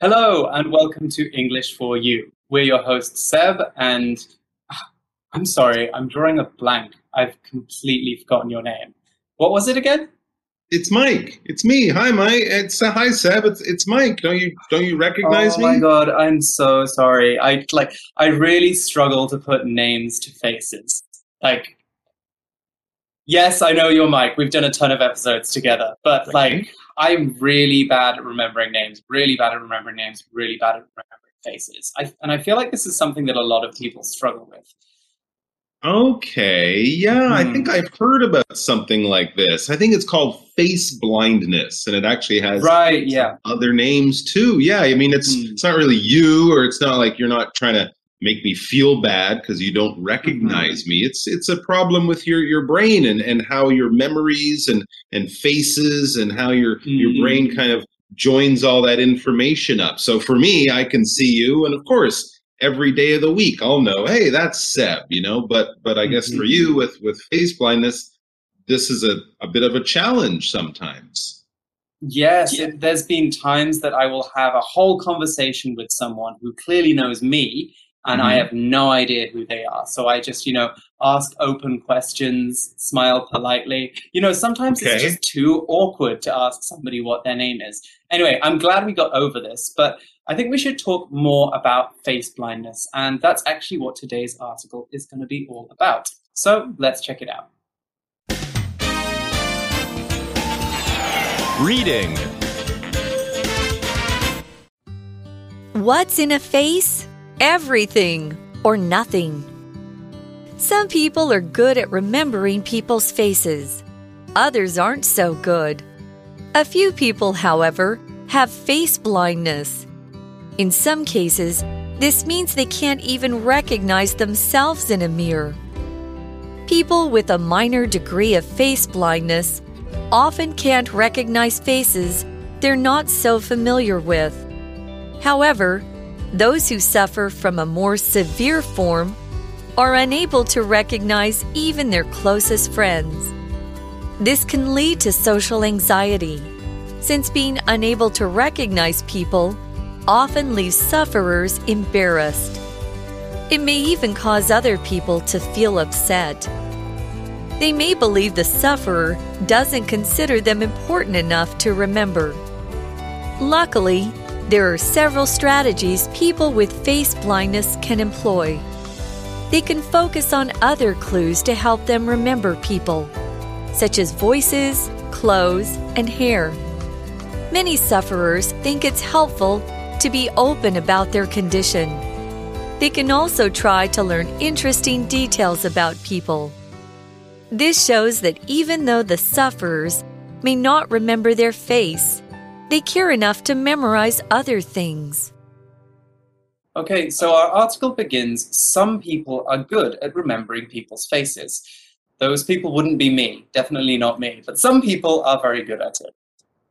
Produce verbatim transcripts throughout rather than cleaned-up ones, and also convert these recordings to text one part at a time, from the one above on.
Hello and welcome to English for You. We're your hosts, Seb, and ah, I'm sorry, I'm drawing a blank. I've completely forgotten your name. What was it again? It's Mike. It's me. Hi, Mike. It's uh, hi, Seb. It's it's Mike. Don't you don't you recognize Oh my me? god, I'm so sorry. I like I really struggle to put names to faces. Like, yes, I know you're Mike. We've done a ton of episodes together, but Okay. like I'm really bad at remembering names, really bad at remembering names, really bad at remembering faces. I, and I feel like this is something that a lot of people struggle with. Okay. Yeah, I think Hmm. I've heard about something like this. I think it's called face blindness, and it actually has Right, some yeah. other names too. Yeah, I mean it's Hmm. it's not really you, or it's not like you're not trying to make me feel bad because you don't Hmm. recognize me. It's it's a problem with your your brain and and how your memories and and faces and how your your brain Hmm. kind of joins all that information up. So for me, I can see you, and of course every day of the week I'll know, hey, that's Seb, you know. But but I guess for Hmm. you with with face blindness, this is a, a bit of a challenge sometimes. Yes, it, there's been times that I will have a whole conversation with someone who clearly knows me, and I Hmm. have no idea who they are. So I just, you know, ask open questions, smile politely. You know, sometimes it's Okay. just too awkward to ask somebody what their name is. Anyway, I'm glad we got over this, but I think we should talk more about face blindness, and that's actually what today's article is going to be all about. So let's check it out. Reading. What's in a face? Everything or nothing. Some people are good at remembering people's faces. Others aren't so good. A few people, however, have face blindness. In some cases, this means they can't even recognize themselves in a mirror. People with a minor degree of face blindness often can't recognize faces they're not so familiar with. However, those who suffer from a more severe form are unable to recognize even their closest friends. This can lead to social anxiety, since being unable to recognize people often leaves sufferers embarrassed. It may even cause other people to feel upset. They may believe the sufferer doesn't consider them important enough to remember. Luckily, there are several strategies people with face blindness can employ. They can focus on other clues to help them remember people, such as voices, clothes, and hair. Many sufferers think it's helpful to be open about their condition. They can also try to learn interesting details about people. This shows that even though the sufferers may not remember their face, they care enough to memorize other things. Okay, so our article begins, some people are good at remembering people's faces. Those people wouldn't be me, definitely not me, but some people are very good at it.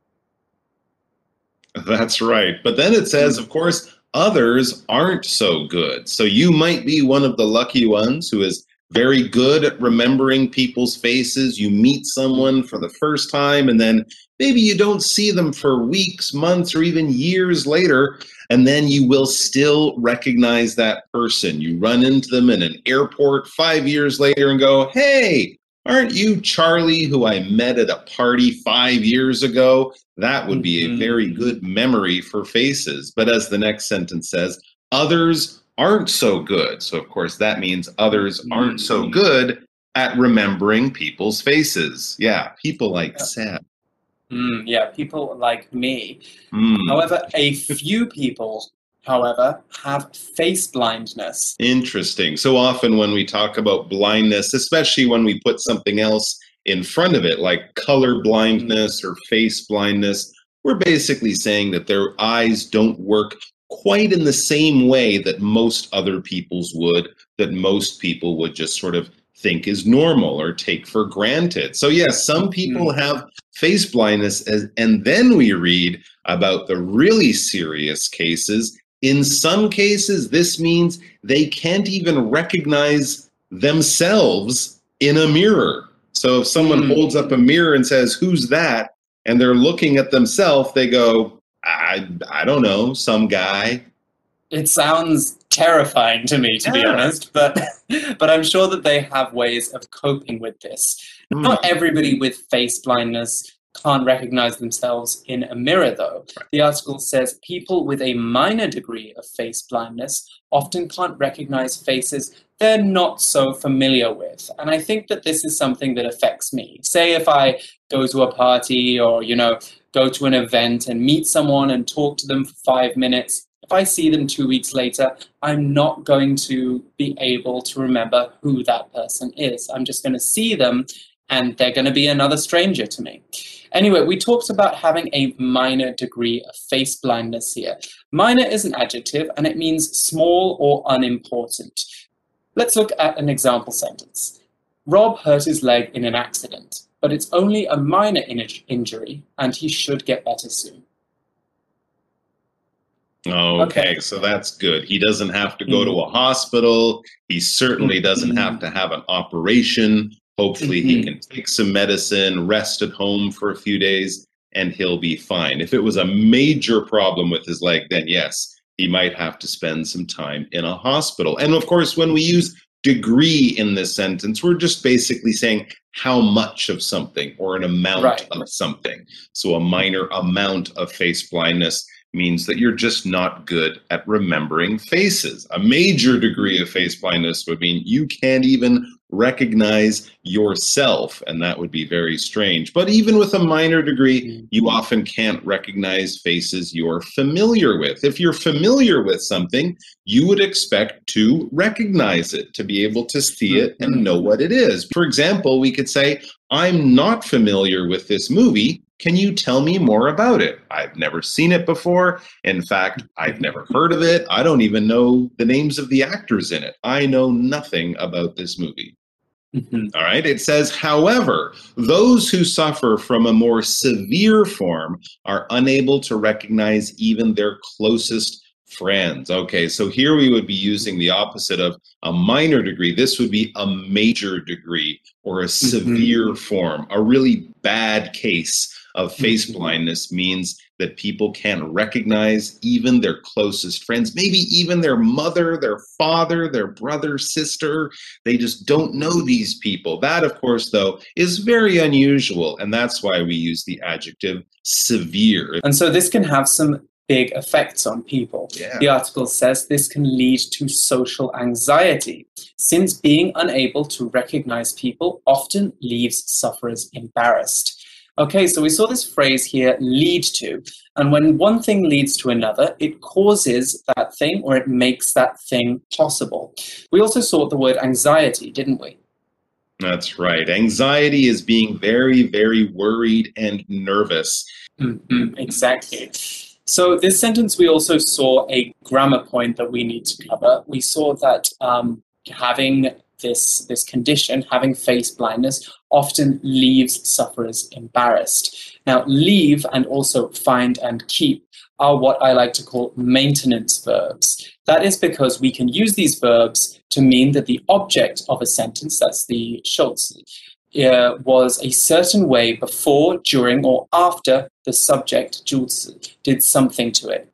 That's right. But then it says, Mm. of course, others aren't so good. So you might be one of the lucky ones who is very good at remembering people's faces. You meet someone for the first time, and then maybe you don't see them for weeks, months, or even years later. And then you will still recognize that person. You run into them in an airport five years later and go, hey, aren't you Charlie who I met at a party five years ago? That would be a very Mhm. good memory for faces. But as the next sentence says, others aren't so good. So, of course, that means others aren't so Mhm. good at remembering people's faces. Yeah, people like Yeah. Sam. Mm, yeah, people like me. Hmm. However, a few people, however, have face blindness. Interesting. So often when we talk about blindness, especially when we put something else in front of it, like color Mm. blindness or face blindness, we're basically saying that their eyes don't work quite in the same way that most other people's would, that most people would just sort of think is normal or take for granted. So, yes, some people Mhm. have face blindness, as, and then we read about the really serious cases. In some cases, this means they can't even recognize themselves in a mirror. So if someone Mm. holds up a mirror and says, who's that? And they're looking at themselves, they go, I, I don't know, some guy. It sounds terrifying to me, to be Yeah. honest, but but I'm sure that they have ways of coping with this. Not everybody with face blindness can't recognize themselves in a mirror, though. The article says people with a minor degree of face blindness often can't recognize faces they're not so familiar with. And I think that this is something that affects me. Say if I go to a party or, you know, go to an event and meet someone and talk to them for five minutes, if I see them two weeks later, I'm not going to be able to remember who that person is. I'm just going to see them and they're going to be another stranger to me. Anyway, we talked about having a minor degree of face blindness here. Minor is an adjective and it means small or unimportant. Let's look at an example sentence. Rob hurt his leg in an accident, but it's only a minor in- injury and he should get better soon. Okay, Okay. so that's good. He doesn't have to go to a hospital. He certainly doesn't have to have an operation. Hopefully he Mhm. can take some medicine, rest at home for a few days, and he'll be fine. If it was a major problem with his leg, then yes, he might have to spend some time in a hospital. And of course, when we use degree in this sentence, we're just basically saying how much of something or an amount Right. of something. So a minor amount of face blindness means that you're just not good at remembering faces. A major degree of face blindness would mean you can't even recognize yourself, and that would be very strange. But even with a minor degree, you often can't recognize faces you're familiar with. If you're familiar with something, you would expect to recognize it, to be able to see it and know what it is. For example, we could say, I'm not familiar with this movie. Can you tell me more about it? I've never seen it before. In fact, I've never heard of it. I don't even know the names of the actors in it. I know nothing about this movie. Mhm. All right. It says, however, those who suffer from a more severe form are unable to recognize even their closest friends. Okay, so here we would be using the opposite of a minor degree. This would be a major degree or a severe form. A really bad case of face Mhm. blindness means that people can't recognize even their closest friends, maybe even their mother, their father, their brother, sister. They just don't know these people. That, of course, though, is very unusual, and that's why we use the adjective severe. And so this can have some big effects on people. Yeah. The article says this can lead to social anxiety, since being unable to recognize people often leaves sufferers embarrassed. Okay, so we saw this phrase here, lead to, and when one thing leads to another, it causes that thing or it makes that thing possible. We also saw the word anxiety, didn't we? That's right. Anxiety is being very, very worried and nervous. Mm-hmm, exactly. So this sentence, we also saw a grammar point that we need to cover. We saw that um, having this, this condition, having face blindness, often leaves sufferers embarrassed. Now, leave and also find and keep are what I like to call maintenance verbs. That is because we can use these verbs to mean that the object of a sentence, that's the Schultz, uh, was a certain way before, during, or after the subject, Jules, did something to it.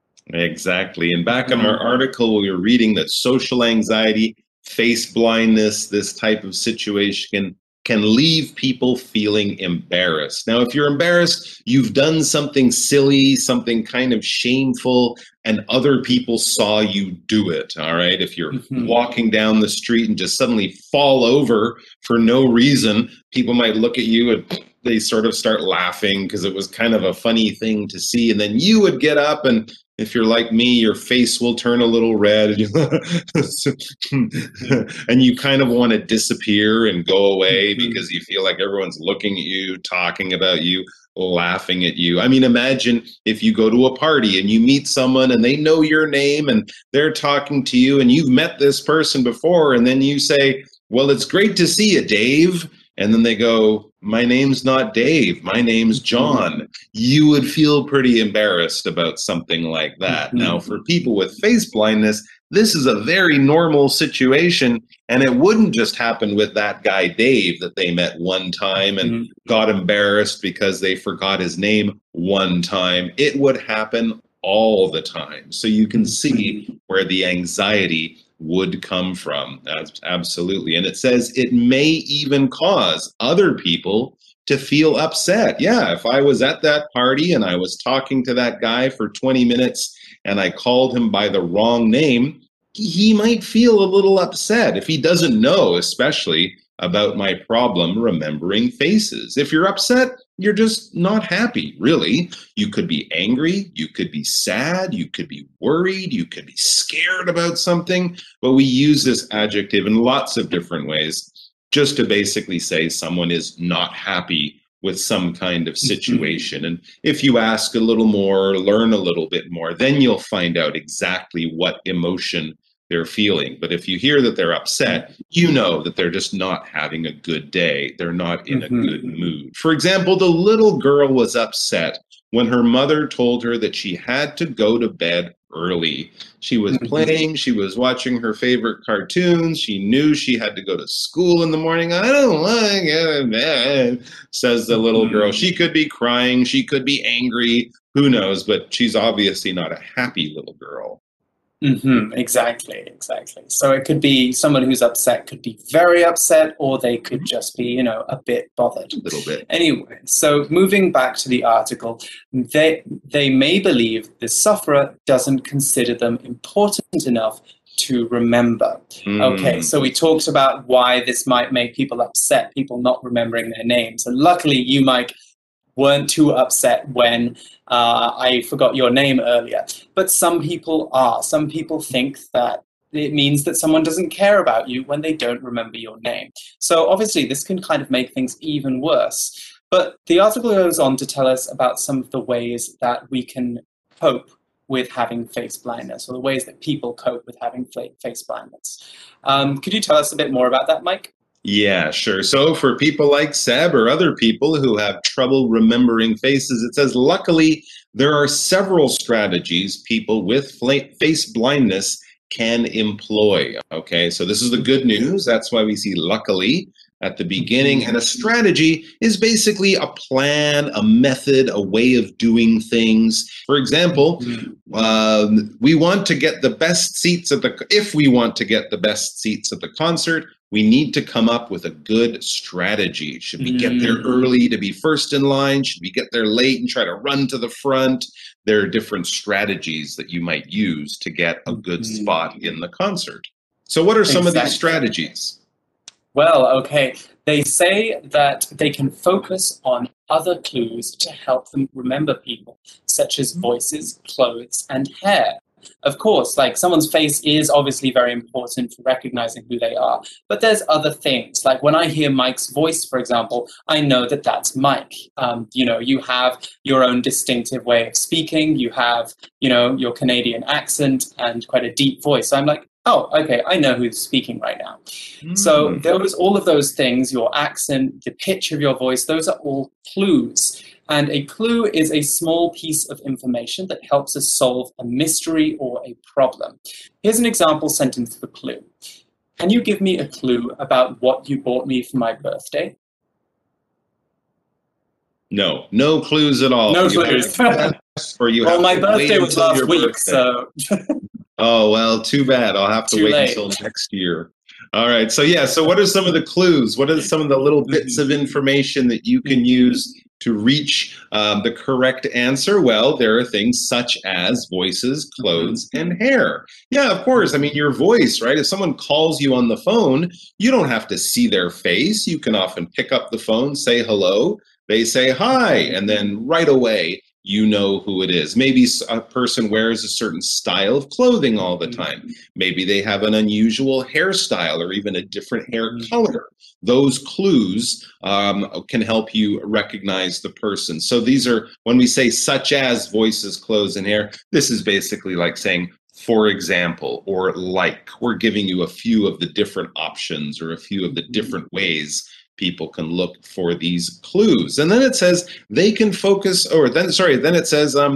Exactly. And back in our article, we were reading that social anxiety, face blindness, this type of situation can, can leave people feeling embarrassed. Now, if you're embarrassed, you've done something silly, something kind of shameful, and other people saw you do it, all right? If you're Mhm. walking down the street and just suddenly fall over for no reason, people might look at you and they sort of start laughing because it was kind of a funny thing to see. And then you would get up, and if you're like me, your face will turn a little red and you, and you kind of want to disappear and go away Mhm. because you feel like everyone's looking at you, talking about you, laughing at you. I mean, imagine if you go to a party and you meet someone and they know your name and they're talking to you and you've met this person before, and then you say, well, it's great to see you, Dave. And then they go, my name's not Dave, my name's John. You would feel pretty embarrassed about something like that. Mhm. Now, for people with face blindness, this is a very normal situation. And it wouldn't just happen with that guy, Dave, that they met one time and Mhm. got embarrassed because they forgot his name one time. It would happen all the time. So you can see where the anxiety would come from. That's absolutely. And it says it may even cause other people to feel upset. Yeah, if I was at that party and I was talking to that guy for twenty minutes and I called him by the wrong name, he might feel a little upset if he doesn't know, especially about my problem remembering faces. If you're upset, you're just not happy, really. You could be angry, you could be sad, you could be worried, you could be scared about something, but we use this adjective in lots of different ways just to basically say someone is not happy with some kind of situation. Mm-hmm. And if you ask a little more, learn a little bit more, then you'll find out exactly what emotion they're feeling. But if you hear that they're upset, you know that they're just not having a good day. They're not in mm-hmm. a good mood. For example, the little girl was upset when her mother told her that she had to go to bed early. She was mm-hmm. playing, she was watching her favorite cartoons, she knew she had to go to school in the morning. I don't want to get to bed, says the little girl. She could be crying, she could be angry, who knows, but she's obviously not a happy little girl. Mm-hmm, exactly, exactly. So it could be someone who's upset could be very upset, or they could just be, you know, a bit bothered. A little bit. Anyway, so moving back to the article, they they may believe the sufferer doesn't consider them important enough to remember. Mm. Okay, so we talked about why this might make people upset, people not remembering their names. And luckily you, Mike, weren't too upset when uh, I forgot your name earlier. But some people are. Some people think that it means that someone doesn't care about you when they don't remember your name. So obviously this can kind of make things even worse. But the article goes on to tell us about some of the ways that we can cope with having face blindness, or the ways that people cope with having face blindness. Um, could you tell us a bit more about that, Mike? Yeah, sure. So for people like Seb or other people who have trouble remembering faces, it says, luckily, there are several strategies people with face blindness can employ. Okay, so this is the good news. That's why we see luckily at the beginning. And a strategy is basically a plan, a method, a way of doing things. For example, um, we want to get the best seats at the, if we want to get the best seats at the concert, we need to come up with a good strategy. Should we get there early to be first in line? Should we get there late and try to run to the front? There are different strategies that you might use to get a good spot in the concert. So what are some exactly. of these strategies? Well, okay. They say that they can focus on other clues to help them remember people, such as voices, clothes, and hair. Of course, like someone's face is obviously very important for recognizing who they are, but there's other things. Like when I hear Mike's voice, for example, I know that that's Mike. Um, you know, you have your own distinctive way of speaking. You have, you know, your Canadian accent and quite a deep voice. So I'm like, oh, okay, I know who's speaking right now. Mm. So there was all of those things, your accent, the pitch of your voice, those are all clues. And a clue is a small piece of information that helps us solve a mystery or a problem. Here's an example sentence for clue. Can you give me a clue about what you bought me for my birthday? No, no clues at all. No you clues. Or you well, have my to birthday was last week, birthday. so... Oh, well, too bad. I'll have to Too wait late. until next year. All right. So, yeah. So what are some of the clues? What are some of the little bits of information that you can use to reach um, the correct answer? Well, there are things such as voices, clothes, and hair. Yeah, of course. I mean, your voice, right? If someone calls you on the phone, you don't have to see their face. You can often pick up the phone, say hello. They say hi, and then right away, you know who it is. Maybe a person wears a certain style of clothing all the time. Maybe they have an unusual hairstyle or even a different hair color. Those clues um, can help you recognize the person. So these are, when we say such as voices, clothes, and hair, this is basically like saying, for example, or like. We're giving you a few of the different options or a few of the different ways people can look for these clues. And then it says they can focus, or then, sorry, then it says um,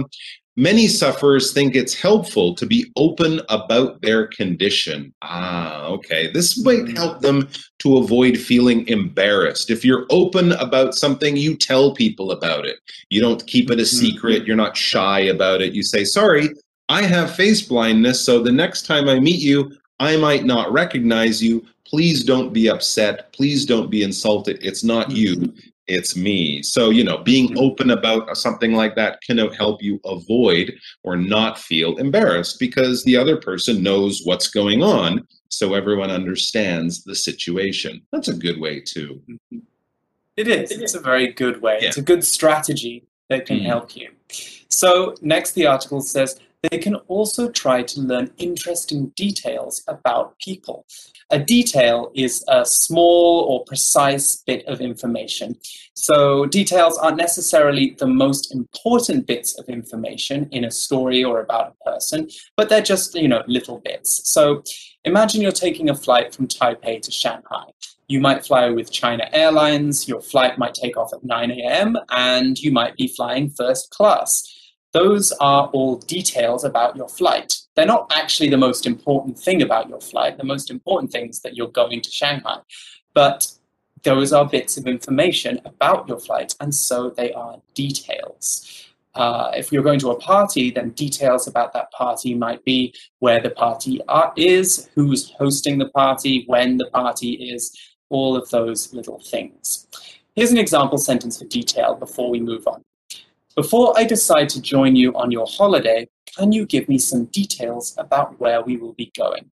Many sufferers think it's helpful to be open about their condition. Ah, okay. This might help them to avoid feeling embarrassed. If you're open about something, you tell people about it. You don't keep it a secret. You're not shy about it. You say, sorry, I have face blindness, so the next time I meet you, I might not recognize you. Please don't be upset. Please don't be insulted. It's not you. It's me. So, you know, being open about something like that can help you avoid or not feel embarrassed because the other person knows what's going on. So everyone understands the situation. That's a good way too. It is. It's a very good way. Yeah. It's a good strategy that can mm. help you. So next, the article says, they can also try to learn interesting details about people. A detail is a small or precise bit of information. So details aren't necessarily the most important bits of information in a story or about a person, but they're just, you know, little bits. So imagine you're taking a flight from Taipei to Shanghai. You might fly with China Airlines, your flight might take off at nine a.m., and you might be flying first class. Those are all details about your flight. They're not actually the most important thing about your flight. The most important thing is that you're going to Shanghai. But those are bits of information about your flight, and so they are details. Uh, if you're going to a party, then details about that party might be where the party are, is, who's hosting the party, when the party is, all of those little things. Here's an example sentence for detail before we move on. Before I decide to join you on your holiday, can you give me some details about where we will be going?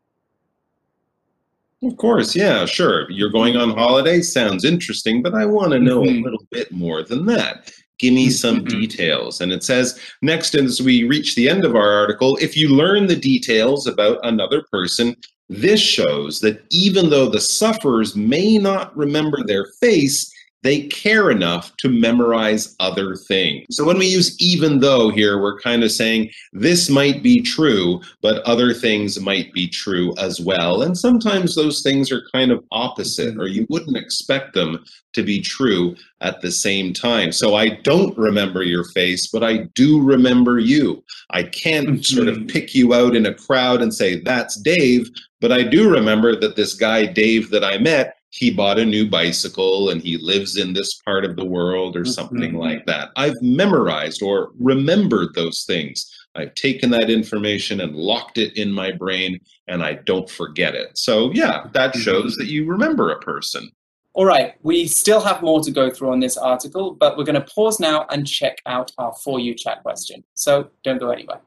Of course, yeah, sure. You're going on holiday? Sounds interesting, but I want to know mm-hmm. a little bit more than that. Give me some mm-hmm. details. And it says, next, as we reach the end of our article, if you learn the details about another person, this shows that even though the sufferers may not remember their face, they care enough to memorize other things. So when we use even though here, we're kind of saying this might be true, but other things might be true as well. And sometimes those things are kind of opposite, or you wouldn't expect them to be true at the same time. So I don't remember your face, but I do remember you. I can't mm-hmm. sort of pick you out in a crowd and say, that's Dave, but I do remember that this guy, Dave, that I met, he bought a new bicycle and he lives in this part of the world or something mm-hmm. like that. I've memorized or remembered those things. I've taken that information and locked it in my brain and I don't forget it. So yeah, that shows that you remember a person. All right, we still have more to go through on this article, but we're going to pause now and check out our For You chat question. So don't go anywhere.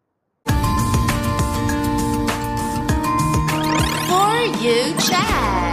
For You chat.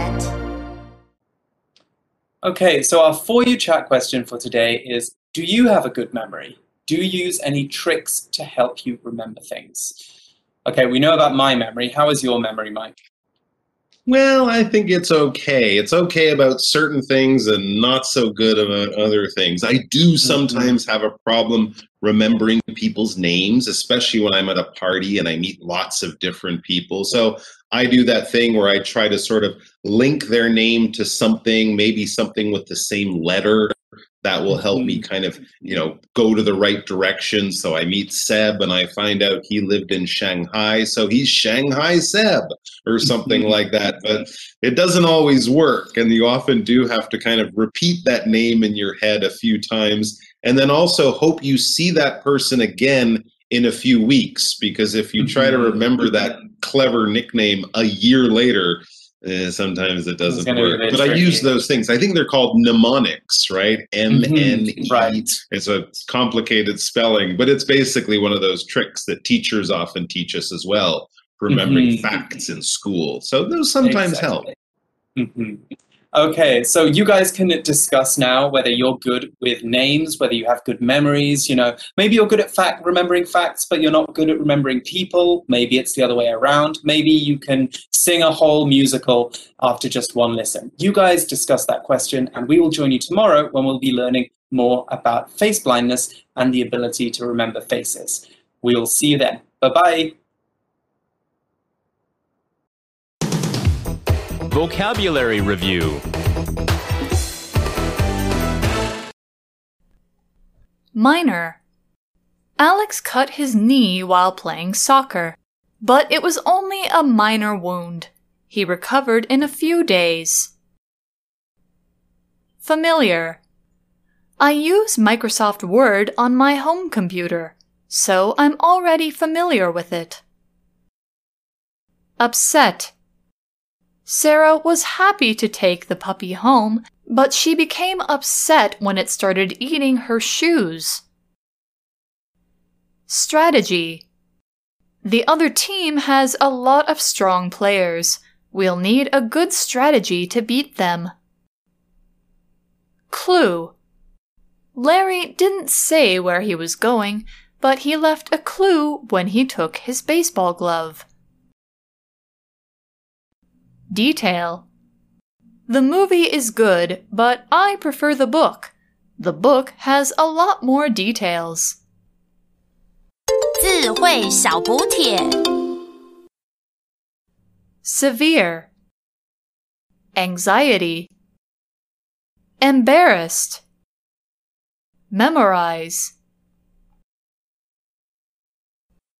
Okay, so our For You chat question for today is, do you have a good memory? Do you use any tricks to help you remember things? Okay, we know about my memory. How is your memory, Mike? Well, I think it's okay. It's okay about certain things and not so good about other things. I do sometimes have a problem remembering people's names, especially when I'm at a party and I meet lots of different people. So I do that thing where I try to sort of link their name to something, maybe something with the same letter. That will help me kind of, you know, go to the right direction. So I meet Seb and I find out he lived in Shanghai. So he's Shanghai Seb or something like that. But it doesn't always work. And you often do have to kind of repeat that name in your head a few times. And then also hope you see that person again in a few weeks. Because if you try to remember that clever nickname a year later, Uh, sometimes it doesn't work, but tricky. I use those things. I think they're called mnemonics, right? M N E. Right. It's a complicated spelling, but it's basically one of those tricks that teachers often teach us as well, remembering mm-hmm. facts in school. So those sometimes exactly. help. Mm-hmm. Okay, so you guys can discuss now whether you're good with names, whether you have good memories. You know, maybe you're good at fact remembering facts, but you're not good at remembering people. Maybe it's the other way around. Maybe you can sing a whole musical after just one listen. You guys discuss that question, and we will join you tomorrow when we'll be learning more about face blindness and the ability to remember faces. We'll see you then. Bye-bye. Vocabulary Review. Minor. Alex cut his knee while playing soccer, but it was only a minor wound. He recovered in a few days. Familiar. I use Microsoft Word on my home computer, so I'm already familiar with it. Upset. Sarah was happy to take the puppy home, but she became upset when it started eating her shoes. Strategy. The other team has a lot of strong players. We'll need a good strategy to beat them. Clue. Larry didn't say where he was going, but he left a clue when he took his baseball glove. Detail. The movie is good, but I prefer the book. The book has a lot more details. 智慧小補帖 Severe. Anxiety. Embarrassed. Memorize.